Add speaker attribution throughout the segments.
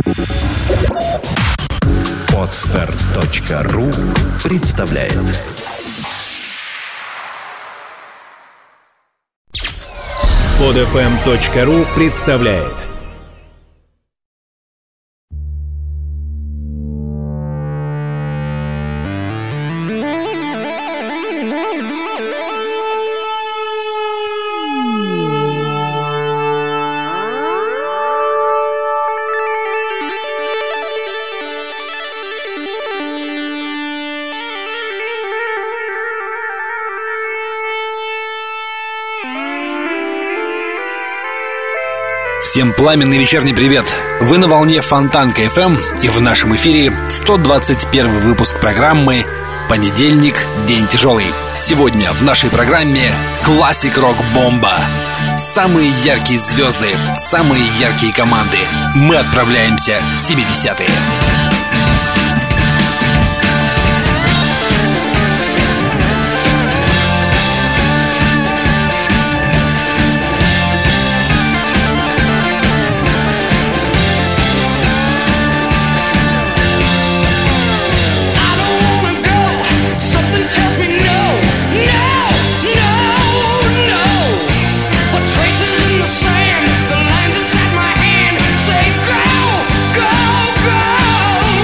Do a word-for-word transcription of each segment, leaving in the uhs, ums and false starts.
Speaker 1: Подстер точка ру представляет. Подэфэм точка ру представляет.
Speaker 2: Всем пламенный вечерний привет! Вы на волне Фонтанка эф эм, и в нашем эфире сто двадцать первый выпуск программы «Понедельник. День тяжелый». Сегодня в нашей программе классик рок-бомба. Самые яркие звезды, самые яркие команды. Мы отправляемся в семидесятые.
Speaker 3: Sand, the lines inside my hand say go, go, go.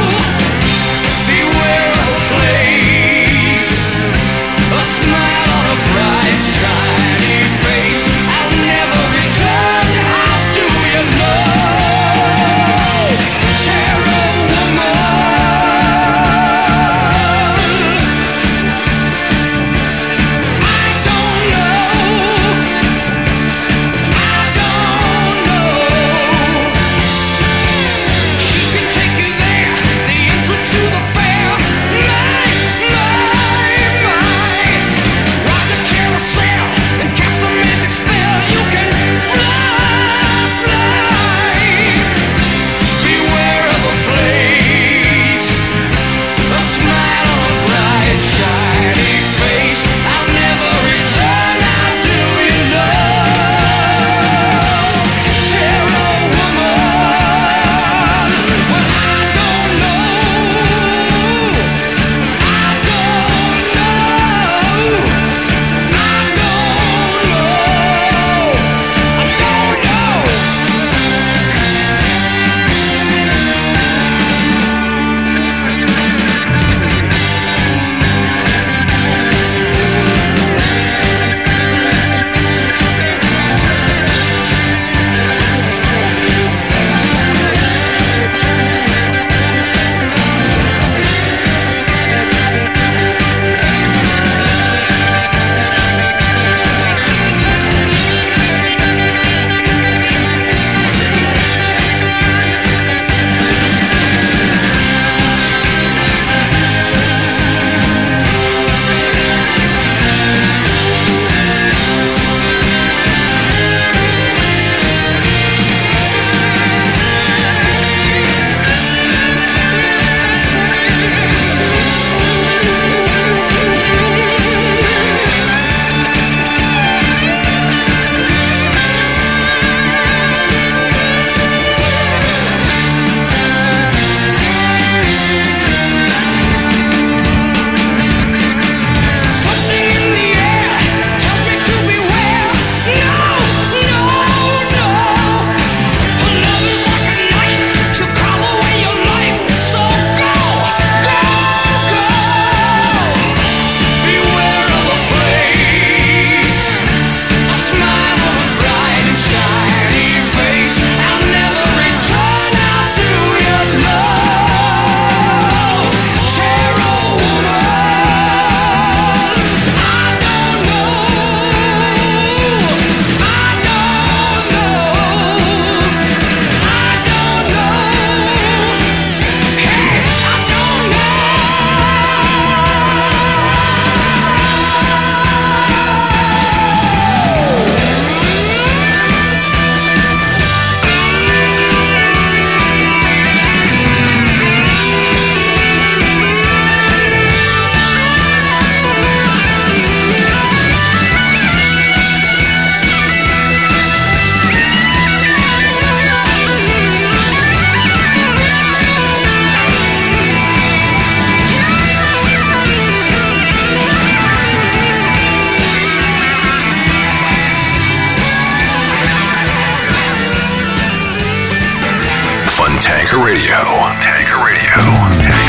Speaker 3: Tanker Radio. Tanker Radio. Tanker Radio.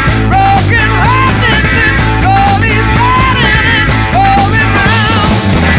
Speaker 4: Broken heart, this is totally spreading and going round.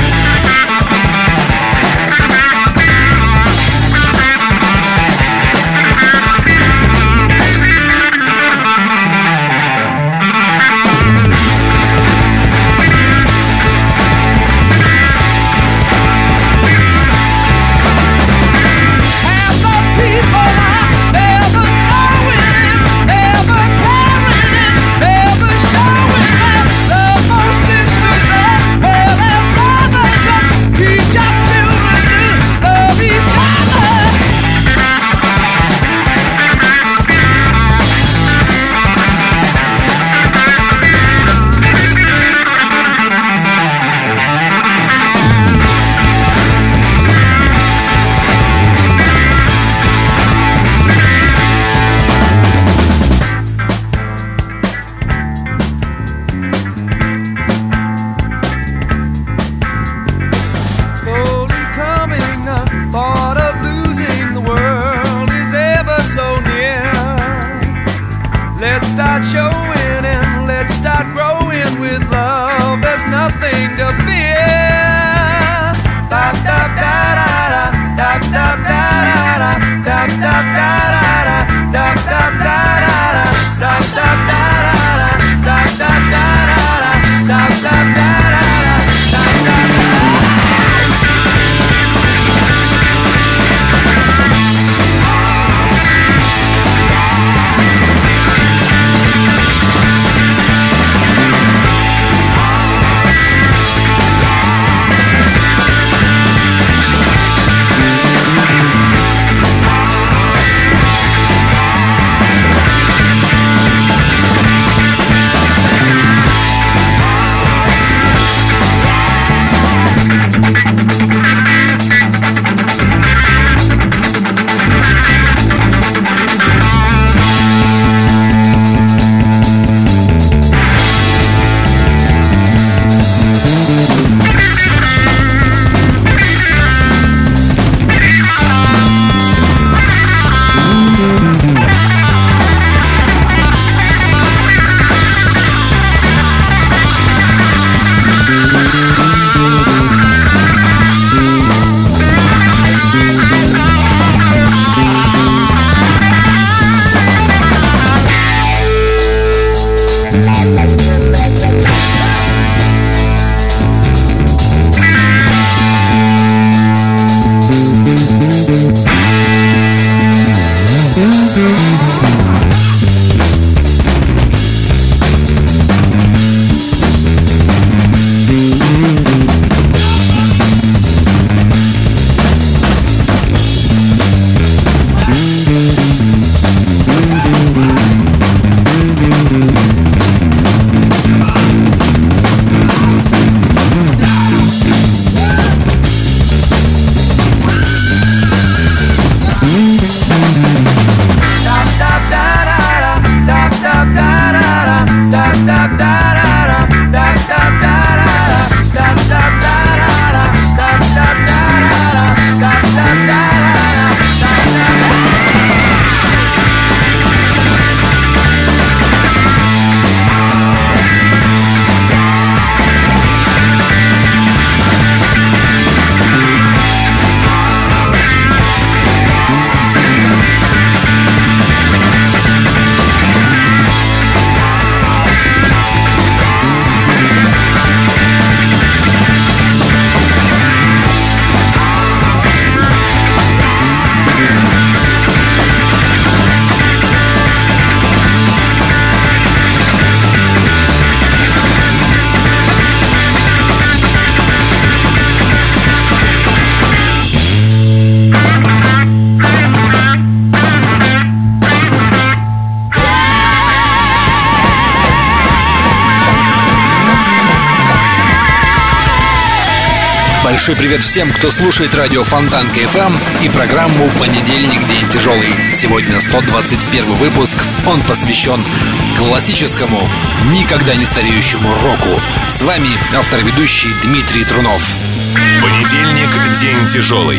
Speaker 2: Большой привет всем, кто слушает радио Фонтанка эф эм и программу «Понедельник. День тяжелый». Сегодня сто двадцать первый выпуск. Он посвящен классическому, никогда не стареющему року. С вами автор-ведущий Дмитрий Трунов.
Speaker 1: Понедельник. День тяжелый.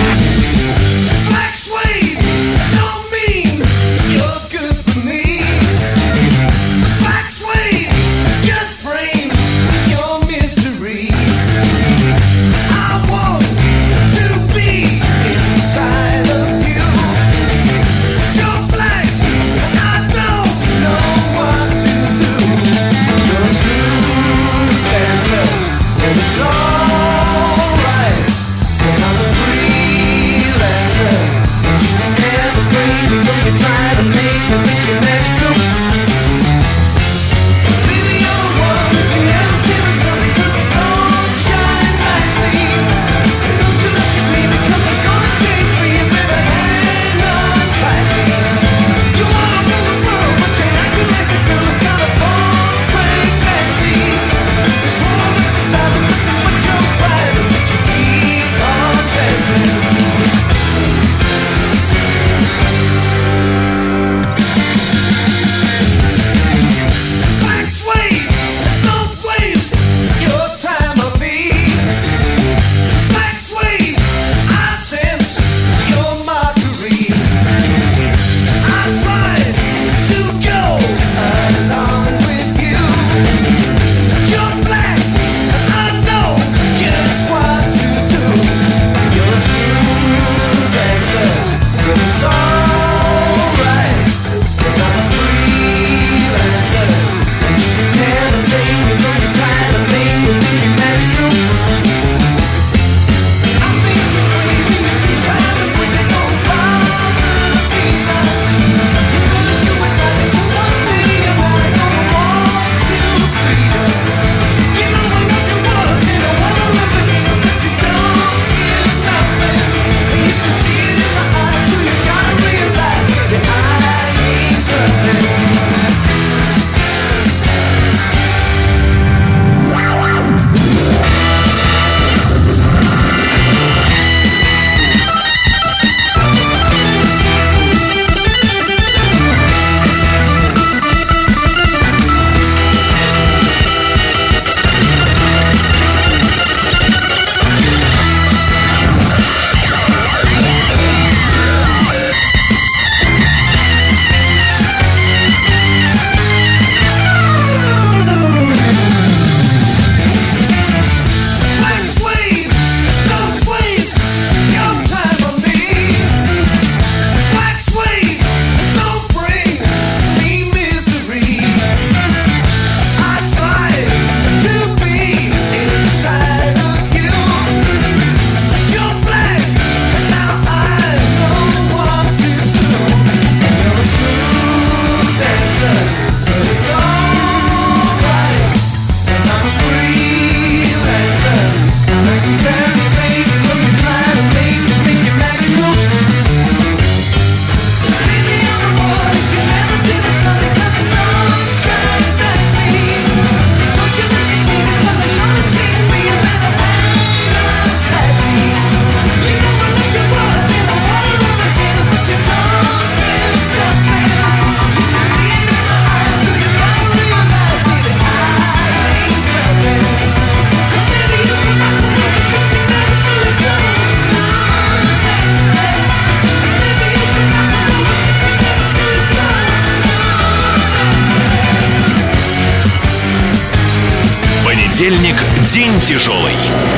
Speaker 1: Понедельник. День тяжелый.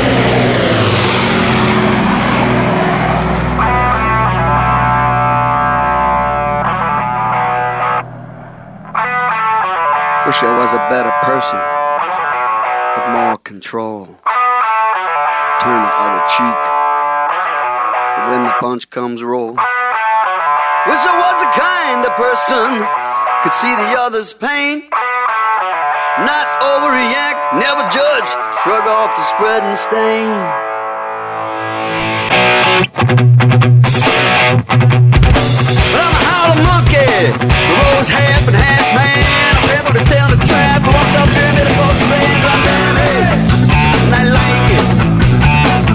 Speaker 4: Wish I was a better person with more control. Turn the other cheek when the punch comes roll. Wish I was a kind of person could see the other's pain. Not overreact, never judge, shrug off the spreading stain. But I'm a howling monkey, the road's half and half man. I'm feathered to stay on the trap, I walked up there, made a false plans, I'm damn it, and I like it.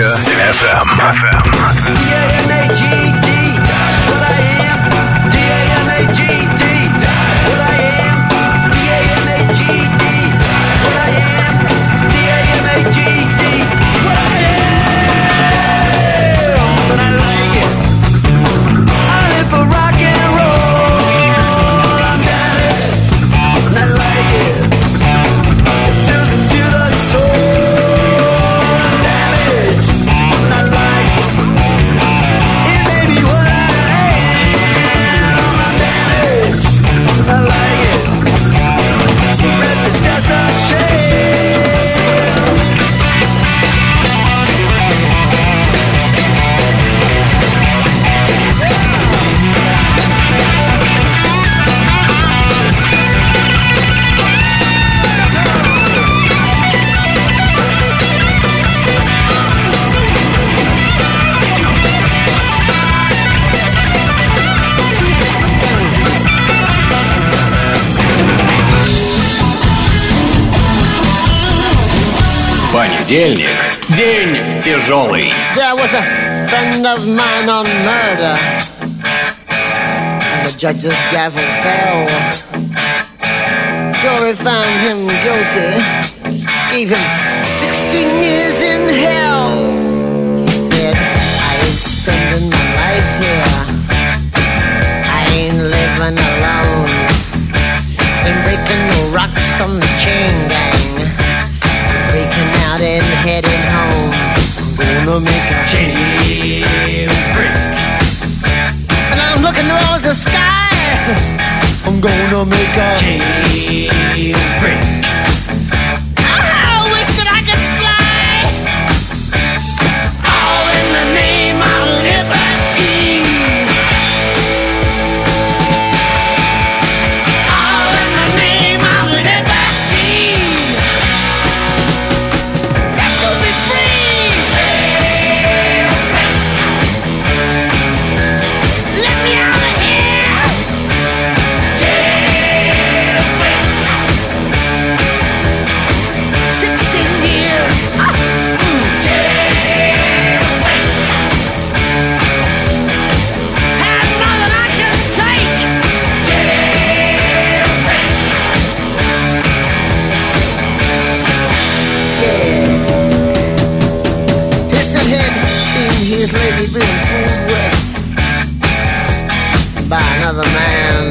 Speaker 3: Панча эф эм.
Speaker 2: Понедельник. День тяжелый.
Speaker 5: There was a friend of mine on murder, and the judge's gavel fell. Jury found him guilty, gave him sixteen years in hell. He said, I ain't spending my life here, I ain't living alone, ain't breaking no rocks on the chain gang, breaking out and heading home. I'm gonna make a jailbreak, and I'm looking towards the sky. I'm gonna make a jailbreak. I wish that I could fly, all in the name of liberty, all in the name of liberty. That could be free. Let me out of here. Sixteen years. Ah, mm. Had more than I can take. Piston head seen his lady being fooled with by another man.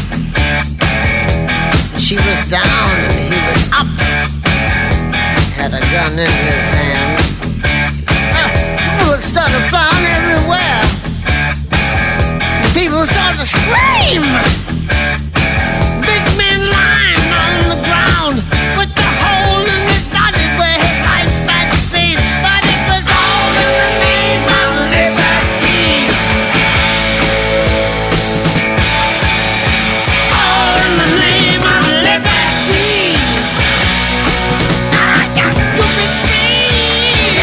Speaker 5: She was down and he was up, had a gun in his hand. Uh, bullets started flying everywhere. People started to scream. Big man lying on the ground with the hole in his body where his life had been. But it was all in the name of liberty. All in the name of liberty. I got to be free.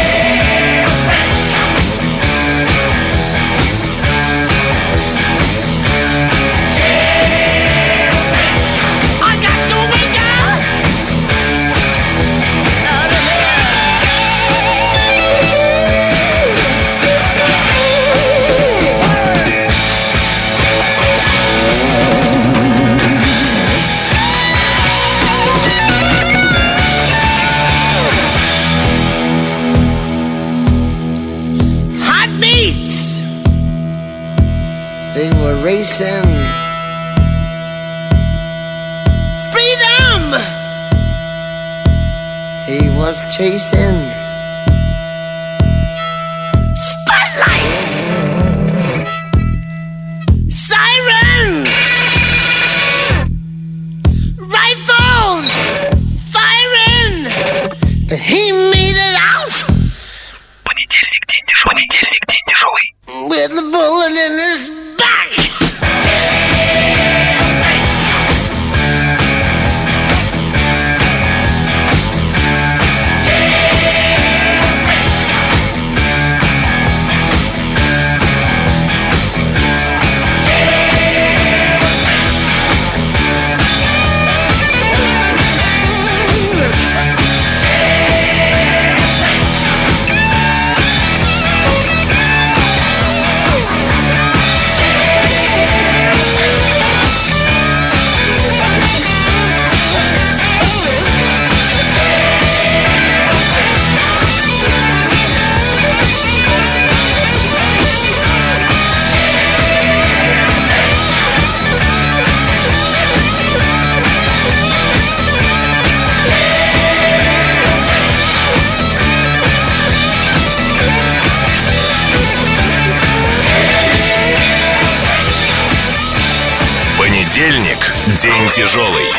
Speaker 5: I got to wake up out of hot beats. They were racing. Freedom. He was chasing. Spotlights. Sirens. Rifles. Firing. But he made it out.
Speaker 3: Понедельник, день тяжелый. Понедельник, день тяжелый.
Speaker 5: With the bullet in his back.
Speaker 1: Понедельник – день тяжелый.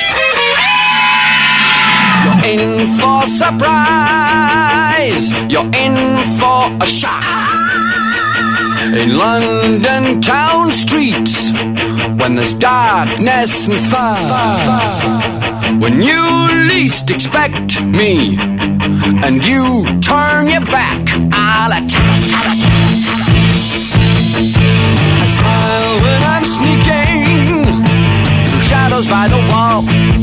Speaker 6: You're in for surprise. You're in for a shock. In London town streets, when there's darkness and fire, when you least expect me, and you turn your back, I'll attack. I smile when I'm sneaking through shadows by the wall.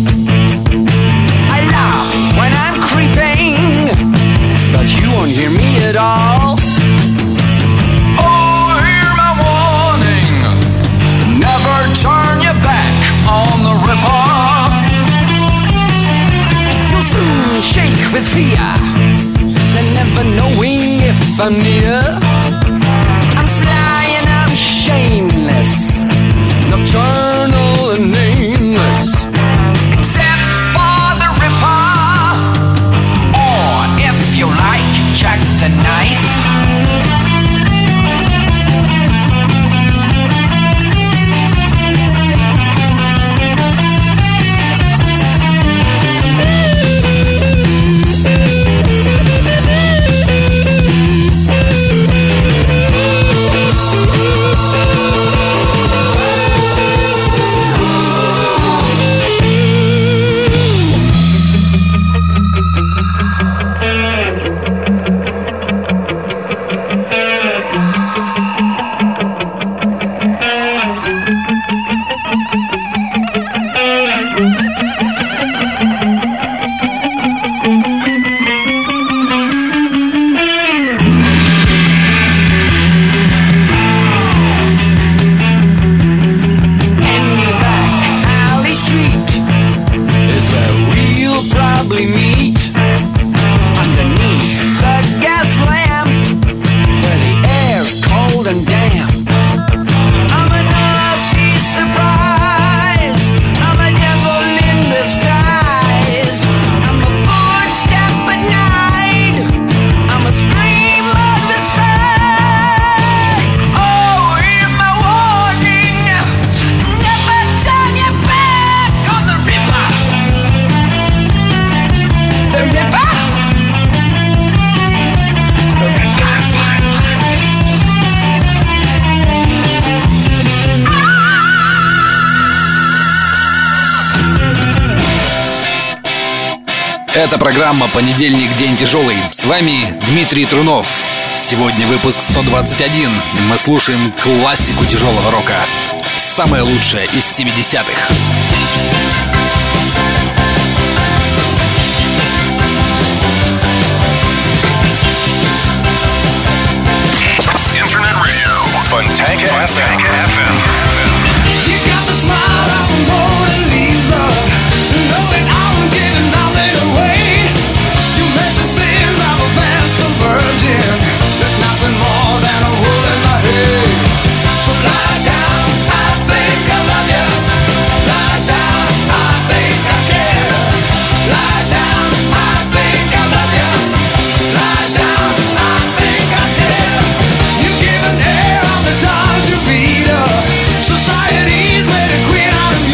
Speaker 6: I laugh when I'm creeping, but you won't hear me at all. Oh, hear my warning, never turn your back on the Ripper. You'll soon shake with fear, then never knowing if I'm near. I'm sly and I'm shameless, nocturnal and nameless, except for the Ripper, or if you like, Jack the Knife.
Speaker 2: Это программа «Понедельник. День тяжелый». С вами Дмитрий Трунов. Сегодня выпуск сто двадцать один. Мы слушаем классику тяжелого рока. Самое лучшее из семидесятых.
Speaker 1: Internet Radio. Fontanka эф эм.
Speaker 6: You got the smile of a Mona Lisa, knowing I'm giving nothing away. You make the sins of a master virgin, there's nothing more than a hole in the hay. So lie down, I think I love you. Lie down, I think I care. Lie down, I think I love you. Lie down, I think I care. You give an air on the times you beat her. Society's made a queen out of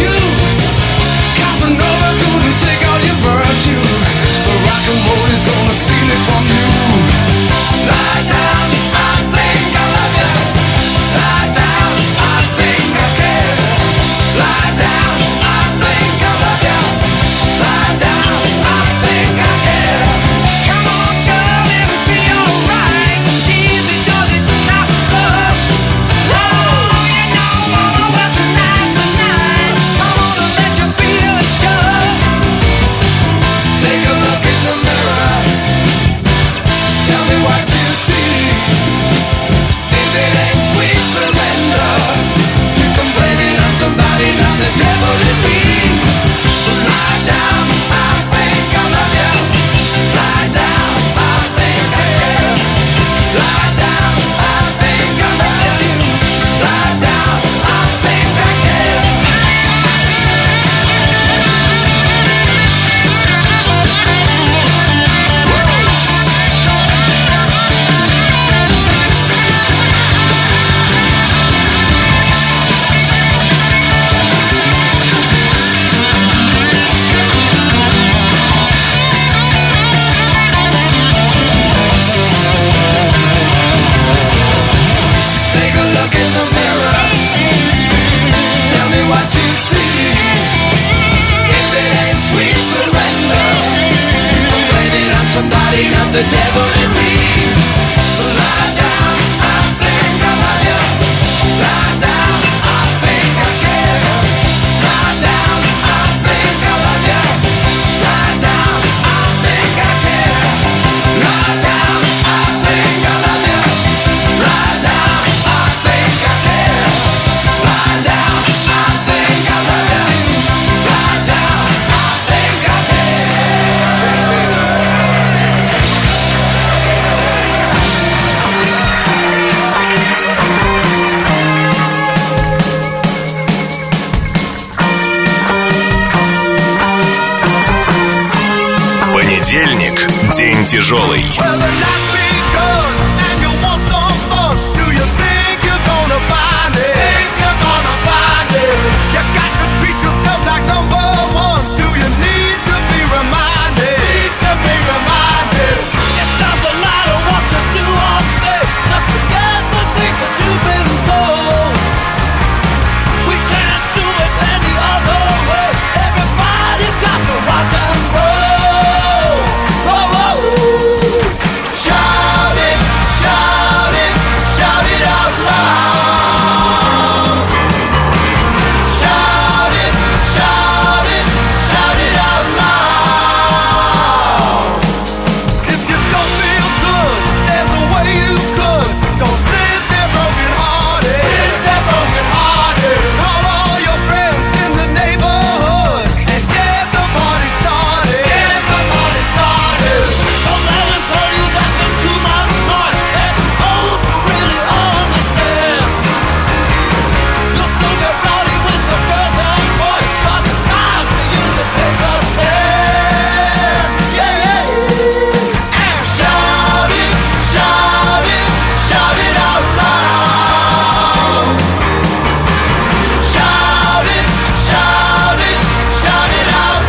Speaker 6: the devil in me. Lie down, I think I love you. Lie down, I think I care. Lie down, I think I love you. Lie down, I think I care. Lie down, I think I love you. Lie down, I think I care. Lie down, I think I love you. Lie down, I think I care.
Speaker 1: Понедельник – день тяжелый.
Speaker 6: Well, the night begun and you want some fun. Do you think you're gonna find it? Think you're gonna find it? You got to treat yourself like number one. Do you need to be reminded? Need to be reminded. It doesn't matter what you do or say. Just forget the things that you've been told. We can't do it any other way. Everybody's got to rock and roll. Whoa, whoa. Shout it, shout it, shout it out loud. Shout it, shout it, shout it out loud. If you don't feel good, there's a way you could. Don't sit there broken hearted. Sit there broken hearted. Call all your friends in the neighborhood and get the party started. Get the party started. Don't let them tell you that there's too much noise. They're too old to really understand. You'll still get rowdy with the girls and boys, 'cause it's time for you to take a stand. Yeah, yeah. And shout it, shout it, shout it out loud. Shout it, shout it, shout it out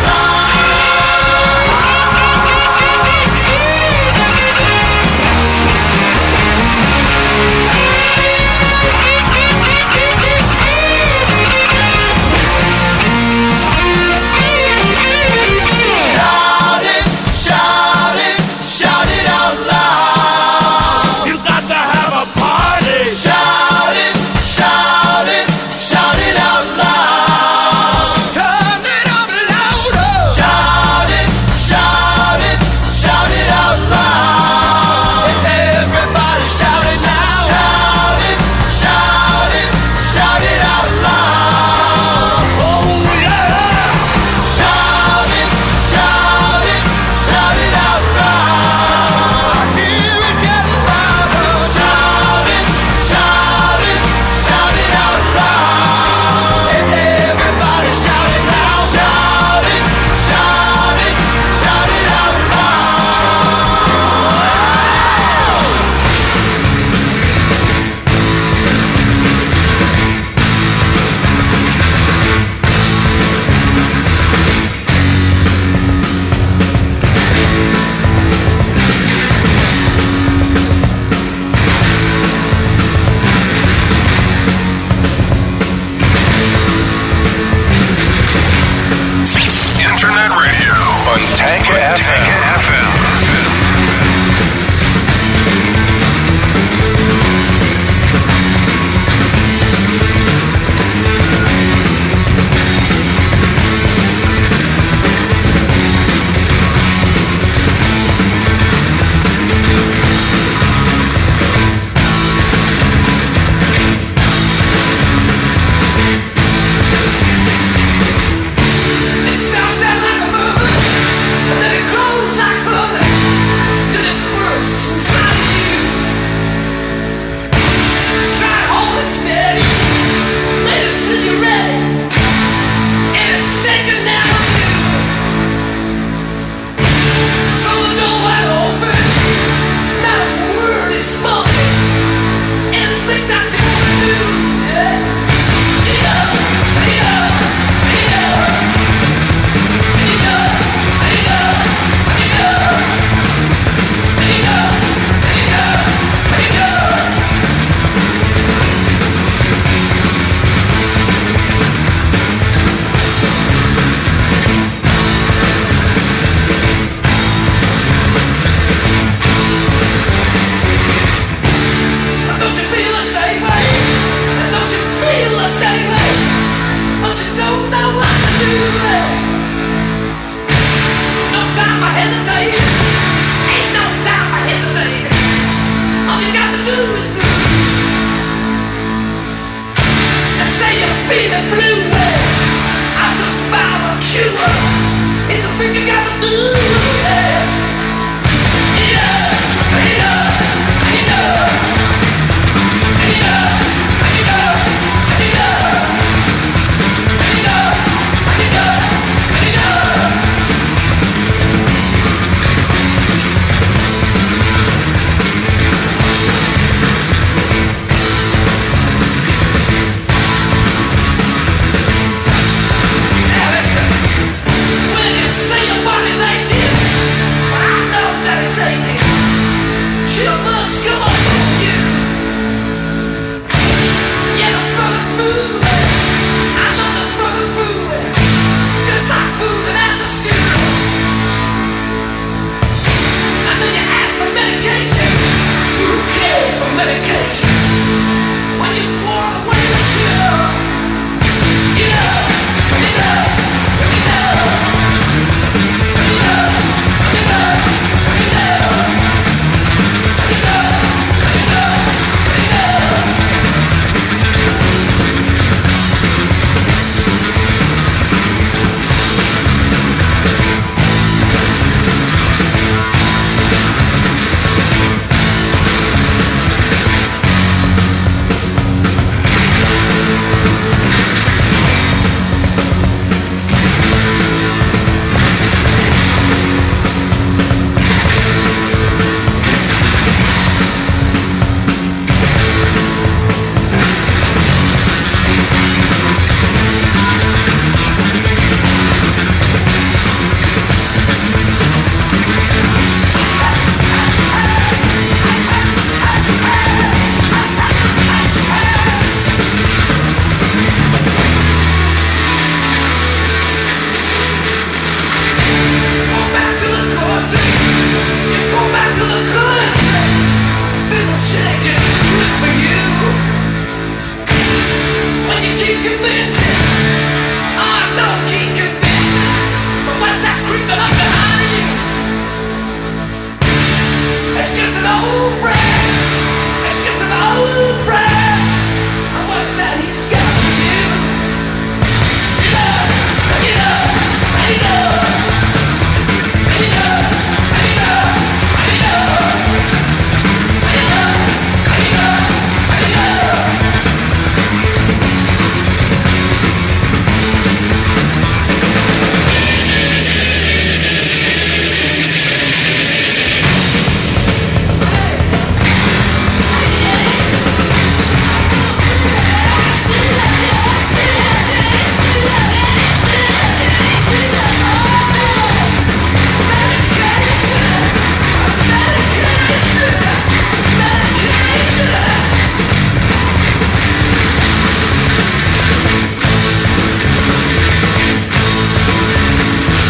Speaker 6: Shout it, shout it, shout it out loud. You got to have a party. Shout it, shout it, shout it out loud. Turn it up louder. Shout it, shout it, shout it out loud. Everybody shout it now. Shout it, shout it, shout it out loud. Oh yeah. Shout it, shout it, shout it out loud. I hear it getting louder. Shout it, shout it, shout it out loud. Everybody shout it now. Shout it, shout it, shout it out
Speaker 1: Internet radio. Fontanka эф эм.
Speaker 6: It sounds like a movie.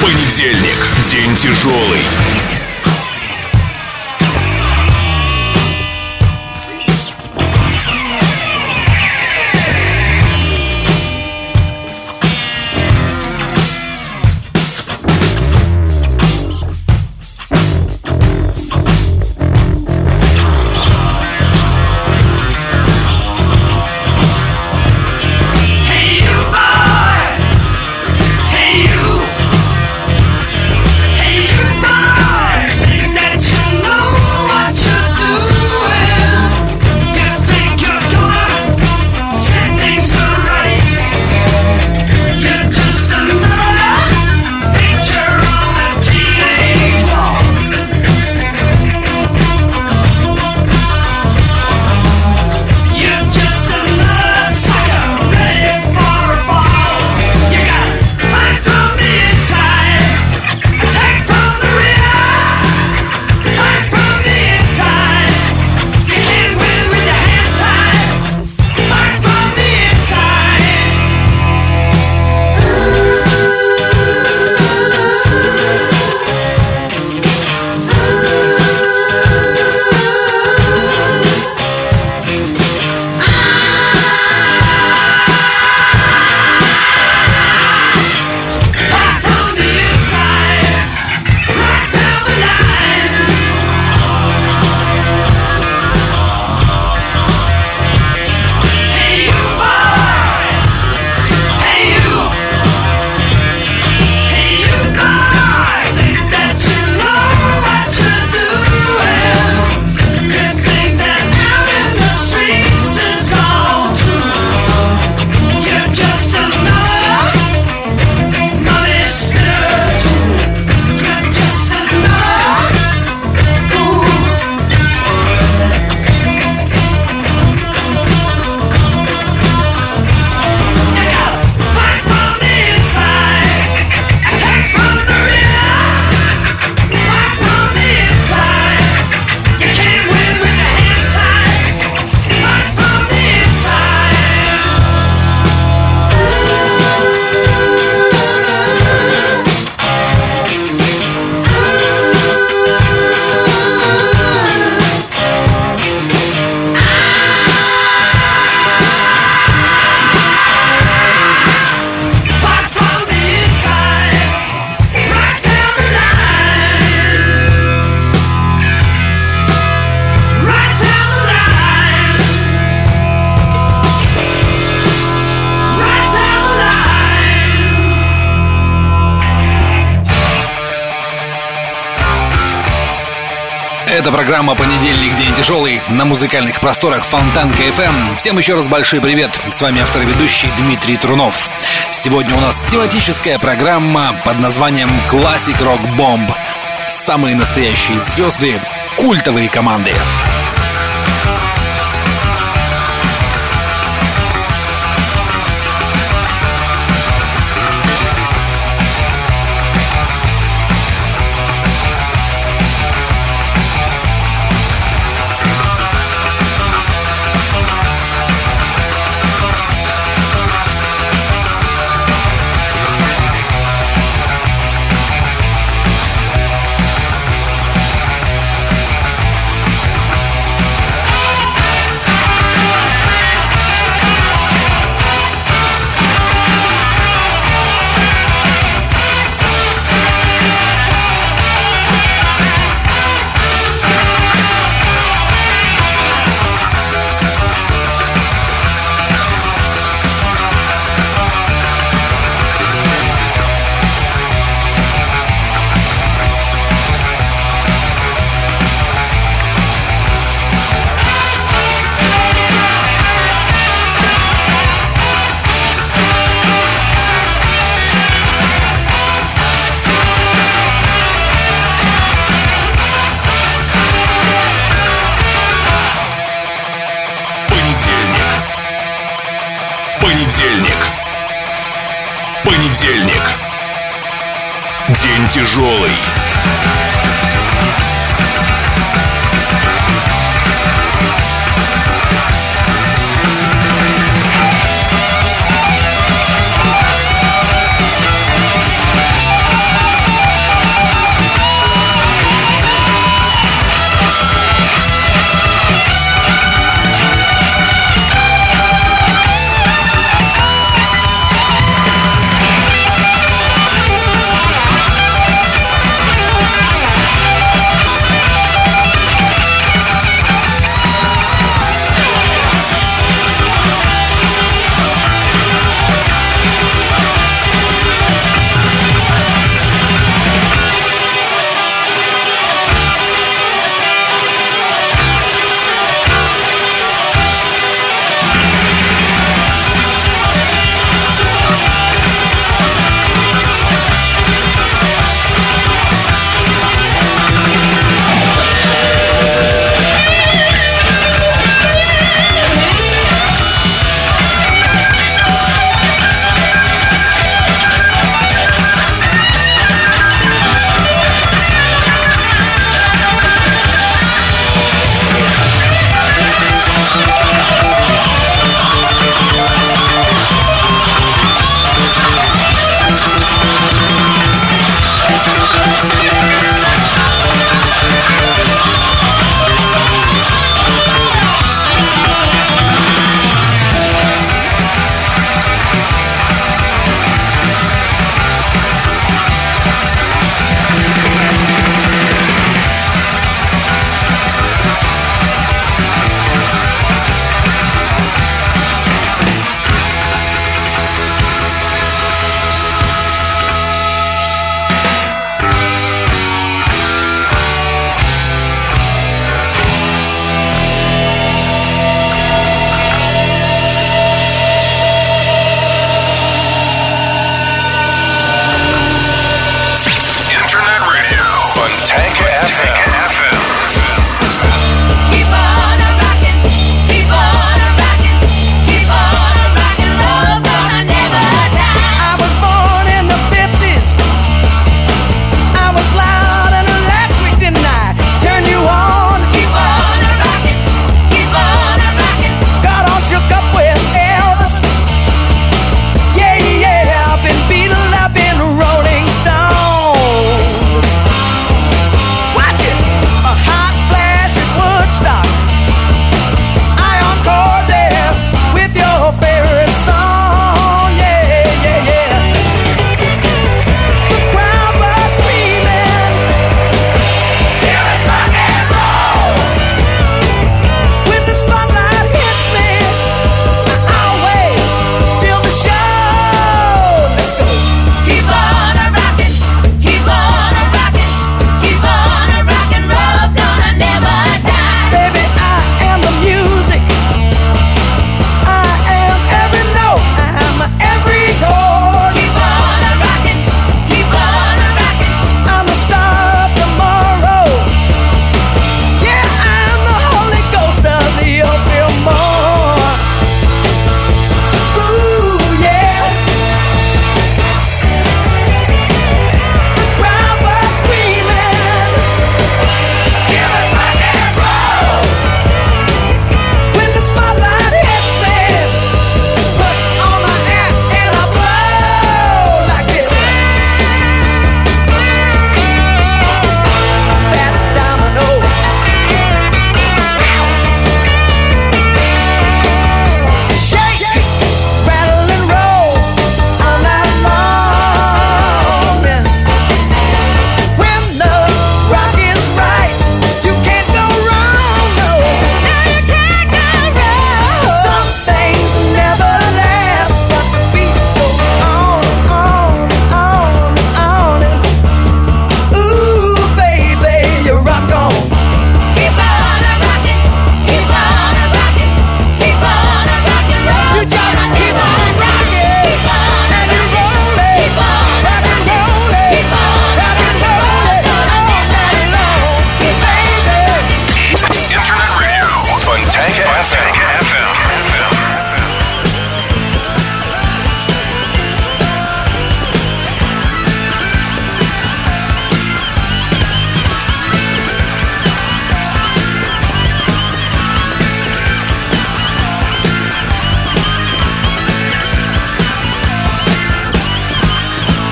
Speaker 1: Понедельник. День тяжелый.
Speaker 2: Это программа «Понедельник. День тяжелый» на музыкальных просторах Фонтанка эф эм. Всем еще раз большой привет. С вами автор и ведущий Дмитрий Трунов. Сегодня у нас тематическая программа под названием «Classic Rock Bomb». Самые настоящие звезды, культовые команды.
Speaker 1: Понедельник. День тяжелый.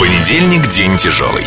Speaker 1: Понедельник, день тяжелый.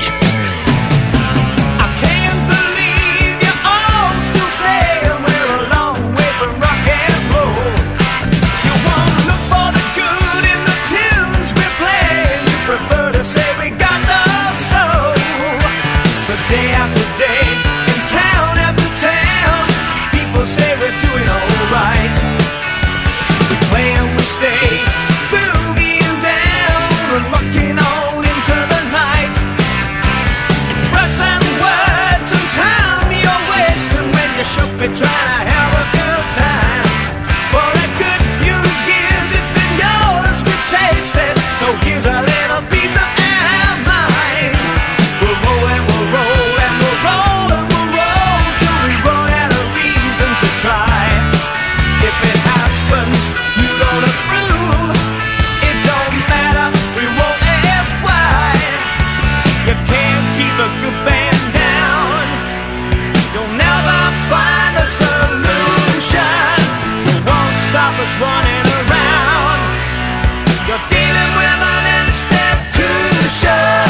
Speaker 6: Trying to have a good time for a good few years. It's been yours, we've tasted. So here's a little piece of our mind. We'll roll and we'll roll and we'll roll and we'll roll till we run out of reason to try. If it happens, you don't approve. It don't matter, we won't ask why. You can't keep a good band down. You'll never find a solution. You won't stop us running around. You're dealing with an institution.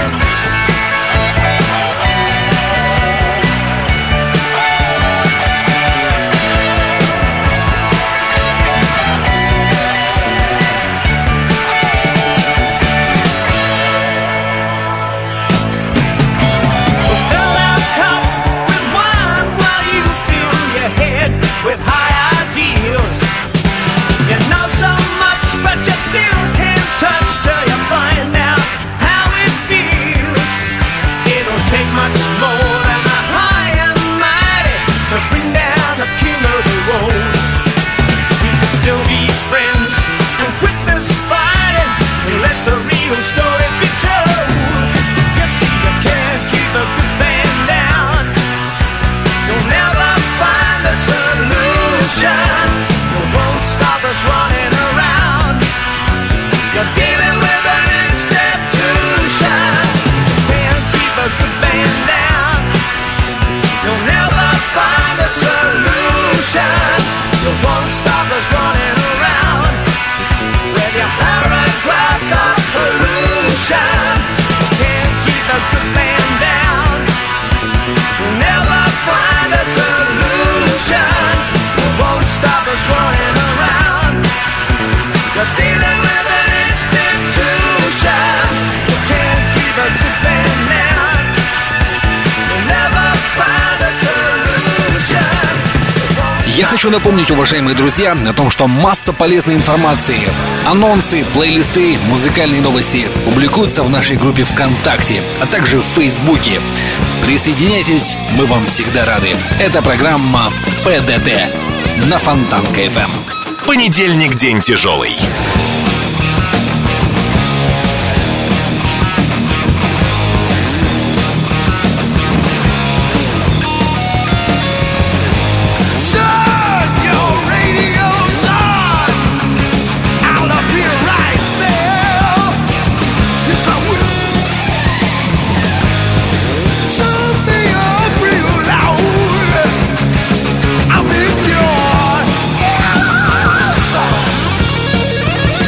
Speaker 6: Fill that cup with wine while you fill your head with high ideals. You know so much, but you still can't touch till you find out how it feels. It'll take much more than the high and mighty to bring down the king of the road. We could still be friends and quit this fighting and let the real story be told. You see, you can't keep a good band down. You'll never find a solution. You won't stop us running around. You're dealing with an institution. You can't keep a good band down. You'll never find a solution. You won't stop us running around with your parent class of pollution. You can't keep a good band down. You'll never find a solution. You won't stop us running around. You're dealing with an institution. You can't keep a good band down. You'll never find a solution.
Speaker 2: Я хочу напомнить, уважаемые друзья, о том, что масса полезной информации, анонсы, плейлисты, музыкальные новости публикуются в нашей группе ВКонтакте, а также в Фейсбуке. Присоединяйтесь, мы вам всегда рады. Это программа ПДТ на Фонтанка эф эм.
Speaker 1: Понедельник, день тяжелый.
Speaker 6: Turn your radios on. Out of here right now. Yes, I will. Turn me up real loud. I'm in your ears.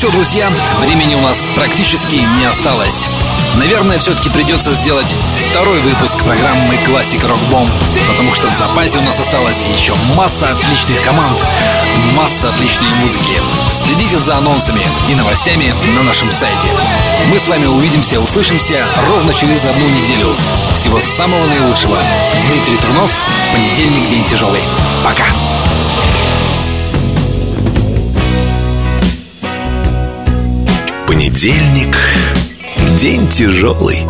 Speaker 2: все, друзья, времени у нас практически не осталось. Наверное, все-таки придется сделать второй выпуск программы «Классик Рок Бомб», потому что в запасе у нас осталась еще масса отличных команд, масса отличной музыки. Следите за анонсами и новостями на нашем сайте. Мы с вами увидимся, услышимся ровно через одну неделю. Всего самого наилучшего. Дмитрий Трунов, понедельник, день тяжелый. Пока.
Speaker 1: Понедельник, день тяжелый.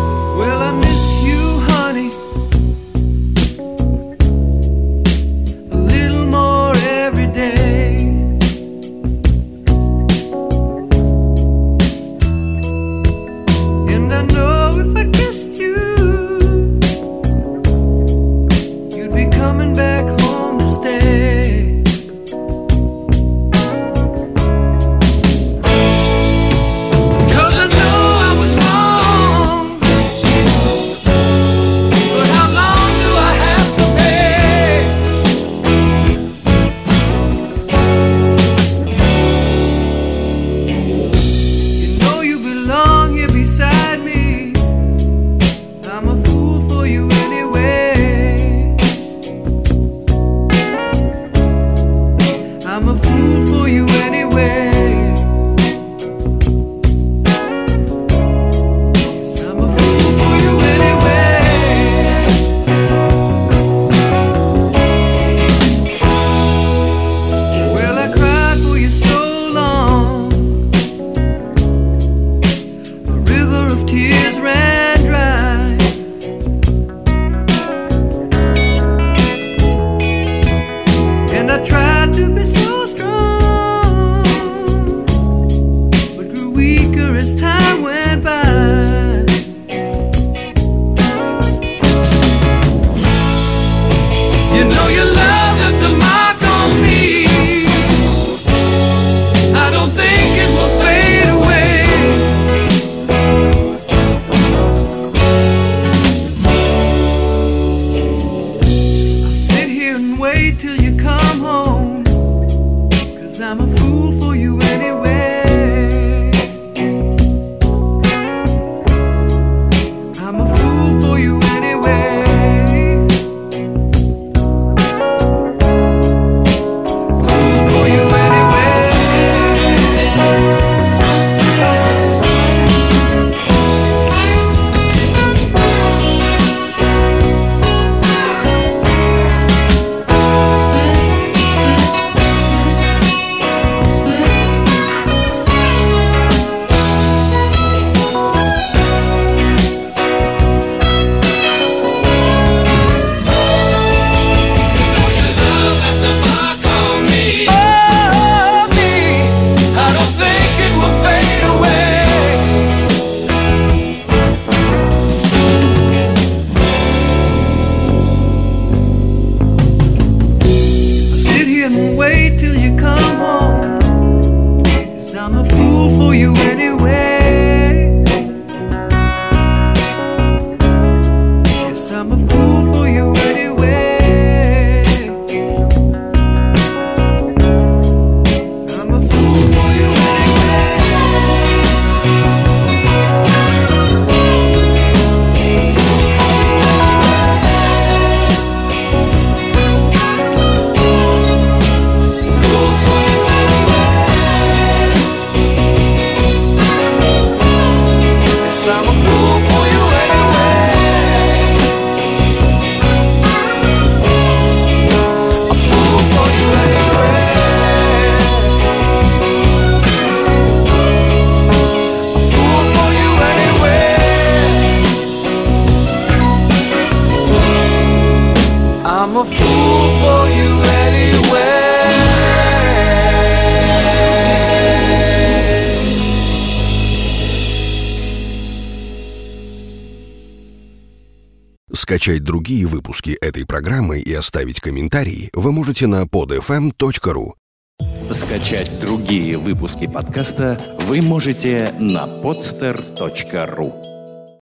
Speaker 7: Скачать другие выпуски этой программы и оставить комментарии вы можете на под эф эм точка ру.
Speaker 8: Скачать другие выпуски подкаста вы можете на подстер точка ру.